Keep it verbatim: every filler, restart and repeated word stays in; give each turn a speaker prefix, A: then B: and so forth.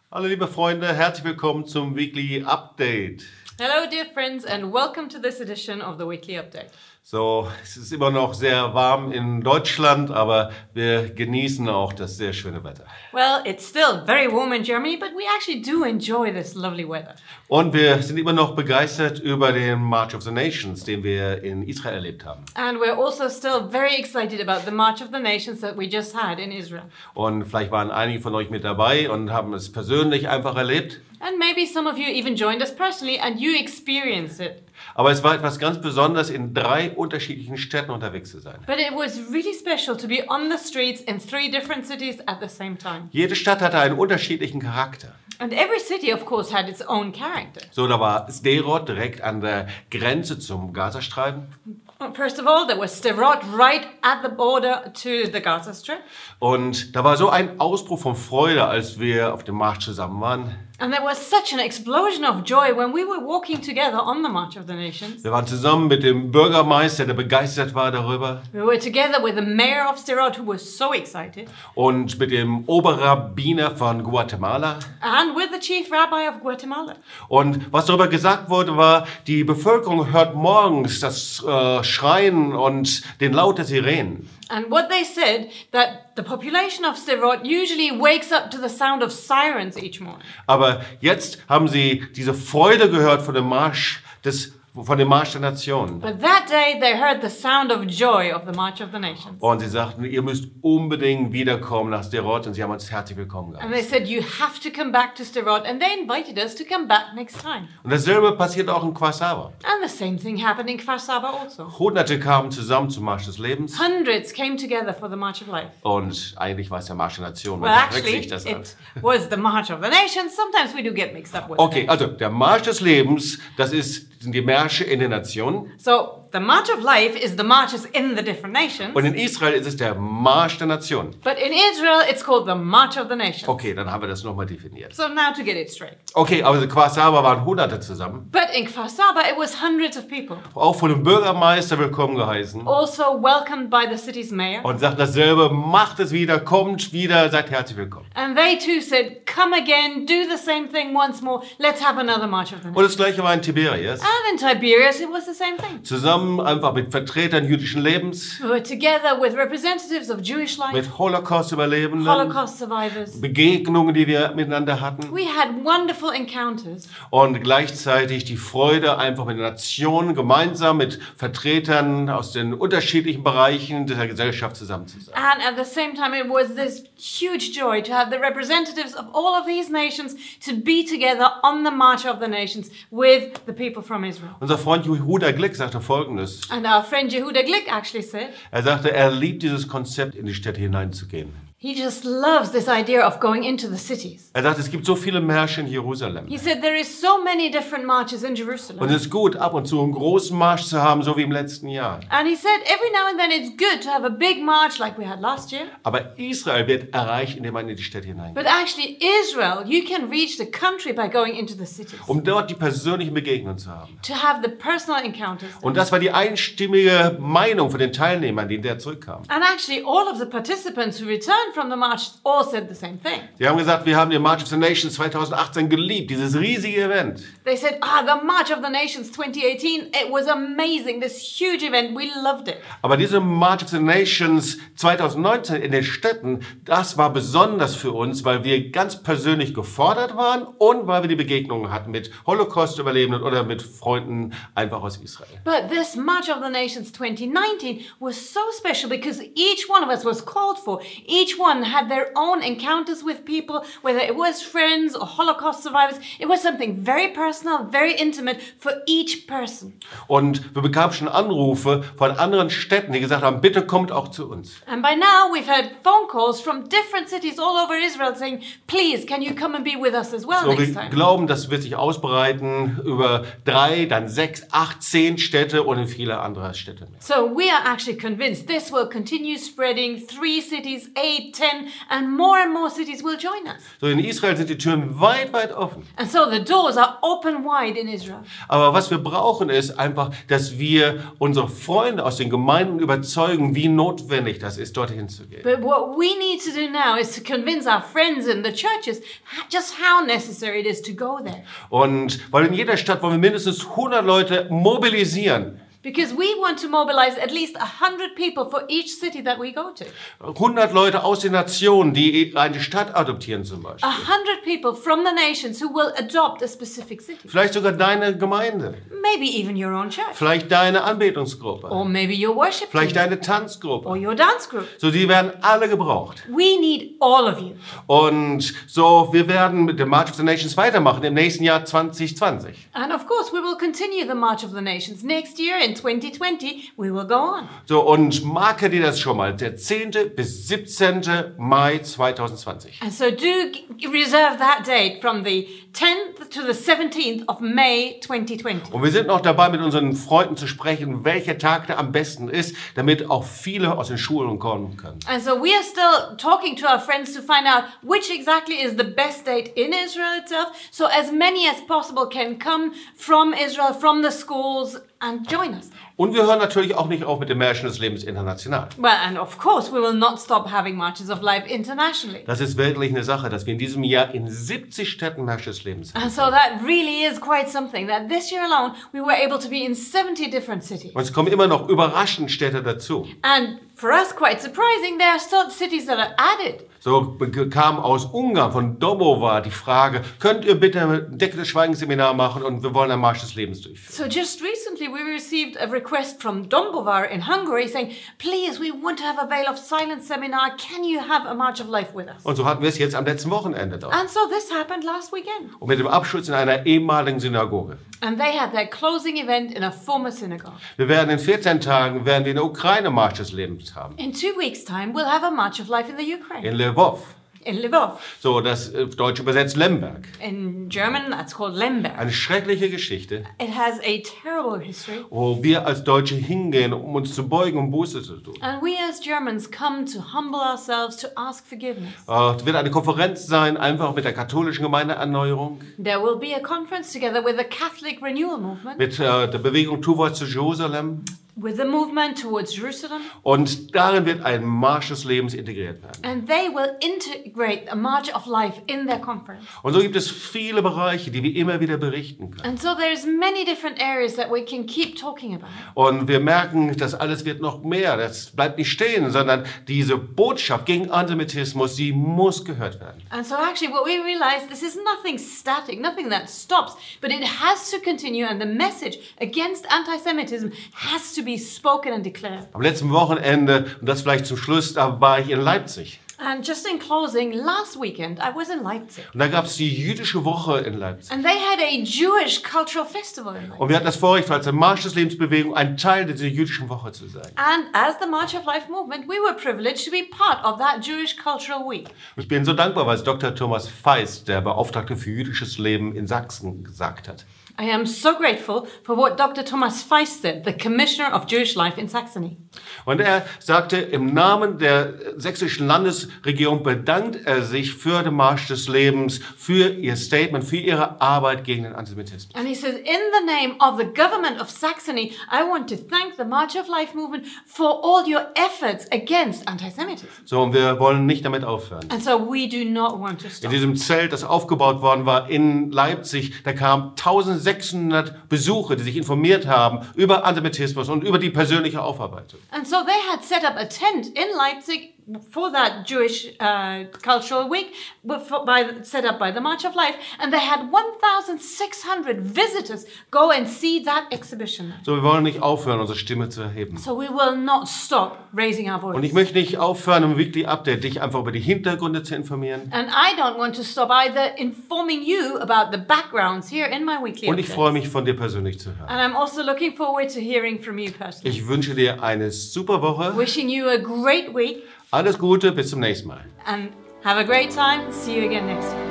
A: Hallo liebe Freunde, herzlich willkommen zum Weekly Update.
B: Hello dear friends and welcome to this edition of the Weekly Update.
A: So, es ist immer noch sehr warm in Deutschland, aber wir genießen auch das sehr schöne Wetter.
B: Well, it's still very warm in Germany, but we actually do enjoy this lovely weather.
A: Und wir sind immer noch begeistert über den March of the Nations, den wir in Israel erlebt haben.
B: And we're also still very excited about the March of the Nations that we just had in Israel.
A: Und vielleicht waren einige von euch mit dabei und haben es persönlich einfach erlebt.
B: And maybe some of you even joined us personally and you experienced it.
A: Aber es war etwas ganz Besonderes, in drei unterschiedlichen Städten unterwegs zu sein.
B: But it was really special to be on the streets in three different cities at the same time.
A: Jede Stadt hatte einen unterschiedlichen Charakter.
B: And every city, of course, had its own character.
A: So, da war Sderot direkt an der Grenze zum Gazastreifen.
B: First of all, there was Sderot right at the border to the Gaza Strip.
A: Und da war so ein Ausbruch von Freude, als wir auf dem Marsch zusammen waren.
B: And there was such an explosion of joy when we were walking together on the March of the Nations.
A: Wir waren zusammen mit dem Bürgermeister, der begeistert war darüber.
B: We were together with the mayor of Sderot, who was so excited.
A: Und mit dem Oberrabbiner von Guatemala.
B: And with the chief rabbi of Guatemala.
A: Und was darüber gesagt wurde, war, die Bevölkerung hört morgens das äh, Schreien und den Laut der Sirenen.
B: And what they said, that the population of Sderot usually wakes up to the sound of sirens each morning.
A: Aber jetzt haben sie diese Freude gehört von dem Marsch des von dem Marsch der Nationen.
B: But that day they heard the sound of joy of the March of the Nations.
A: Und sie sagten, ihr müsst unbedingt wiederkommen nach Sderot, und sie haben uns herzlich willkommen
B: And they
A: geheißen.
B: said, you have to come back to Sderot, and they invited us to come back next time.
A: Und dasselbe passiert auch in Kfar Saba.
B: And the same thing happened in Kfar Saba also.
A: Hunderte kamen zusammen zum Marsch des Lebens.
B: Hundreds came together for the March of Life.
A: Und eigentlich war es der Marsch der Nationen,
B: Well,
A: man
B: actually,
A: verwechselt sich das an.
B: it was the March of the Nations. Sometimes we do get mixed up with
A: Okay,
B: it.
A: also der Marsch des Lebens, das ist, sind die Märsche in den Nationen.
B: So the March of Life is the marches in the different nations.
A: Und in Israel ist es der Marsch der Nationen.
B: But in Israel, it's called the March of the Nations.
A: Okay, dann haben wir das nochmal definiert.
B: So now to get it straight.
A: Okay, aber in Kfar Saba waren Hunderte zusammen.
B: But in Kfar Saba, it was hundreds of people.
A: Auch von dem Bürgermeister willkommen geheißen.
B: Also welcomed by the city's mayor.
A: Und sagt dasselbe, macht es wieder, kommt wieder, seid herzlich willkommen.
B: And they too said, come again, do the same thing once more. Let's have another March of the
A: Und
B: Nations.
A: das gleiche war in Tiberias.
B: And in Tiberias, it was the same thing.
A: Zusammen einfach mit Vertretern jüdischen Lebens,
B: We were together with representatives of Jewish life,
A: mit Holocaust-Überlebenden,
B: Holocaust survivors.
A: Begegnungen, die wir miteinander hatten.
B: We had wonderful encounters.
A: Und gleichzeitig die Freude, einfach mit den Nationen gemeinsam mit Vertretern aus den unterschiedlichen Bereichen dieser Gesellschaft zusammen zu sein.
B: And at the same time, it was this huge joy to have the representatives of all of these nations to be together on the March of the Nations with the people from Israel.
A: Unser Freund Yehuda Glick sagte Folgendes.
B: And our friend Yehuda Glick actually said,
A: Er sagte, er liebt dieses Konzept, in die Städte hineinzugehen.
B: he just loves this idea of going into the cities.
A: Er sagt, es gibt so viele Märsche in Jerusalem.
B: He said there is so many different marches in
A: Und
B: Jerusalem.
A: es ist gut, ab und zu einen großen Marsch zu haben, so wie im letzten Jahr.
B: And he said every now and then it's good to have a big march like we had last year.
A: Aber Israel wird erreicht, indem man in die Städte hineingeht.
B: But actually Israel, you can reach the country by going into the cities.
A: Um dort die persönlichen Begegnungen zu haben.
B: To have the personal encounters.
A: Und das war die einstimmige Meinung von den Teilnehmern, die der zurückkamen.
B: And actually all of the participants who returned from the march all said the same thing.
A: Sie haben gesagt, wir haben den March of the Nations zwanzig achtzehn geliebt, dieses riesige Event.
B: They said, ah, the March of the Nations twenty eighteen, it was amazing, this huge event, we loved it.
A: Aber diese March of the Nations zwanzig neunzehn in den Städten, das war besonders für uns, weil wir ganz persönlich gefordert waren und weil wir die Begegnungen hatten mit Holocaust-Überlebenden oder mit Freunden einfach aus Israel.
B: But this March of the Nations twenty nineteen was so special because each one of us was called for. Each one had their own encounters with people, whether it was friends or Holocaust survivors. It was something very personal, very intimate for each person.
A: Und wir bekamen schon Anrufe von anderen Städten, die gesagt haben, bitte kommt auch zu uns.
B: And by now we've had phone calls from different cities all over Israel saying, please, can you come and be with us as well
A: So,
B: next
A: wir
B: time?
A: glauben, das wird sich ausbreiten über drei, dann sechs, acht, zehn Städte und in viele andere Städte mehr.
B: So we are actually convinced this will continue spreading three cities, eight, eight, ten, and more and more cities will join us.
A: So in Israel sind die Türen weit, weit offen.
B: And so the doors are open wide in Israel.
A: Aber was wir brauchen ist einfach, dass wir unsere Freunde aus den Gemeinden überzeugen, wie notwendig das ist, dorthin zu gehen.
B: But what we need to do now is to convince our friends in the churches just how necessary it is to go there.
A: Und weil in jeder Stadt wollen wir mindestens hundert Leute mobilisieren.
B: Because we want to mobilize at least one hundred people for each city that we go to.
A: hundert Leute aus den Nationen, die eine Stadt adoptieren zum Beispiel.
B: one hundred people from the nations who will adopt a specific city.
A: Vielleicht sogar deine Gemeinde.
B: Maybe even your own church.
A: Vielleicht deine Anbetungsgruppe.
B: Or maybe your worship
A: Vielleicht
B: team.
A: deine Tanzgruppe.
B: Or your dance group.
A: So, die werden alle gebraucht.
B: We need all of you.
A: Und so, wir werden mit dem March of the Nations weitermachen im nächsten Jahr zwanzig zwanzig.
B: And of course, we will continue the March of the Nations. Next year in twenty twenty, we will go on.
A: So, und marke dir das schon mal, der zehnte bis siebzehnte Mai zwanzig zwanzig.
B: And so do g- reserve that date from the tenth to the seventeenth of May twenty twenty.
A: Und wir sind noch dabei, mit unseren Freunden zu sprechen, welcher Tag da am besten ist, damit auch viele aus den Schulen kommen können.
B: And so we are still talking to our friends to find out which exactly is the best date in Israel itself, so as many as possible can come from Israel, from the schools, and join us.
A: Und wir hören natürlich auch nicht auf mit den Märschen des Lebens international.
B: Well, and of course, we will not stop having Marches of Life internationally.
A: Das ist wirklich eine Sache, dass wir in diesem Jahr in siebzig Städten Märsche des Lebens sind.
B: And so that really is quite something, that this year alone, we were able to be in seventy different cities.
A: Und es kommen immer noch überraschend Städte dazu.
B: And for us, quite surprising, there are still cities that are added.
A: So kam aus Ungarn, von Domova, die Frage, könnt ihr bitte ein Decke des Schweigens Seminar machen und wir wollen ein Marsch des Lebens durchführen.
B: So just recently we received a request from Dombovar in Hungary saying, please, we want to have a Veil of Silence seminar. Can you have a March of Life with us?
A: Und so hatten wir es jetzt am letzten Wochenende dort.
B: And so this happened last weekend.
A: Und mit dem Abschluss in einer ehemaligen Synagoge.
B: And they had their closing event in a former synagogue.
A: Wir werden in vierzehn Tagen werden wir in der Ukraine Marsch des Lebens haben.
B: In two weeks' time, we'll have a March of Life in the Ukraine,
A: In Lwów.
B: in Lvov.
A: So, das äh, deutsch übersetzt Lemberg.
B: In German, that's called Lemberg.
A: Eine schreckliche Geschichte,
B: It has a terrible history.
A: wo wir als Deutsche hingehen, um uns zu beugen, um Buße zu tun.
B: And we as Germans come to humble ourselves, to ask forgiveness.
A: Äh, Es wird eine Konferenz sein, einfach mit der katholischen Gemeindeerneuerung,
B: There will be a conference together with the Catholic Renewal Movement,
A: mit äh, der Bewegung Towards Jerusalem.
B: with the movement towards Jerusalem,
A: Und darin wird ein Marsch des Lebens integriert werden.
B: and they will integrate a March of Life in their conference.
A: Und so gibt es viele Bereiche, die wir immer wieder berichten können.
B: And so there's many different areas that we can keep talking about.
A: Und wir merken, das alles wird noch mehr. Das bleibt nicht stehen, sondern diese Botschaft gegen Antisemitismus, die muss gehört werden.
B: And so actually what we realize, this is nothing static, nothing that stops, but it has to continue, and the message against anti-Semitism has to be spoken and declared.
A: Am letzten Wochenende, und das vielleicht zum Schluss, da war ich in Leipzig.
B: And just in closing, last weekend I was in Leipzig.
A: Und da gab es die jüdische Woche in Leipzig.
B: And they had a Jewish cultural festival in Leipzig.
A: Und wir hatten das Vorrecht, als der Marsch des Lebensbewegung ein Teil dieser jüdischen Woche zu sein.
B: And as the March of Life movement, we were privileged to be part of that Jewish Cultural Week.
A: Und ich bin so dankbar, was Doktor Thomas Feist, der Beauftragte für jüdisches Leben in Sachsen, gesagt hat.
B: I am so grateful for what Doctor Thomas Feist said, the Commissioner of Jewish Life in Saxony.
A: Und er sagte, im Namen der sächsischen Landesregierung bedankt er sich für den Marsch des Lebens, für ihr Statement, für ihre Arbeit gegen den Antisemitismus.
B: And he says, in the name of the government of Saxony, I want to thank the March of Life movement for all your efforts against anti-Semitism.
A: So, und wir wollen nicht damit aufhören.
B: And so we do not want to
A: In
B: stop.
A: diesem Zelt, das aufgebaut worden war in Leipzig, da kamen eintausendsechshundert Besucher, die sich informiert haben über Antisemitismus und über die persönliche Aufarbeitung.
B: And so they had set up a tent in Leipzig for that Jewish uh, Cultural Week, but for, by, set up by the March of Life, and they had one thousand six hundred visitors go and see that exhibition.
A: So, wir wollen nicht aufhören, unsere Stimme zu erheben.
B: So we will not stop raising our
A: Und ich
B: voice.
A: möchte nicht aufhören, um Weekly Update dich einfach über die Hintergründe zu informieren.
B: And I don't want to stop either informing you about the backgrounds here in my weekly
A: Und ich
B: updates.
A: freue mich, von dir persönlich zu hören.
B: And I'm also looking forward to hearing from you personally.
A: Ich wünsche dir eine super Woche.
B: Wishing you a great week
A: Alles Gute, bis zum nächsten Mal.
B: and have a great time. See you again next week.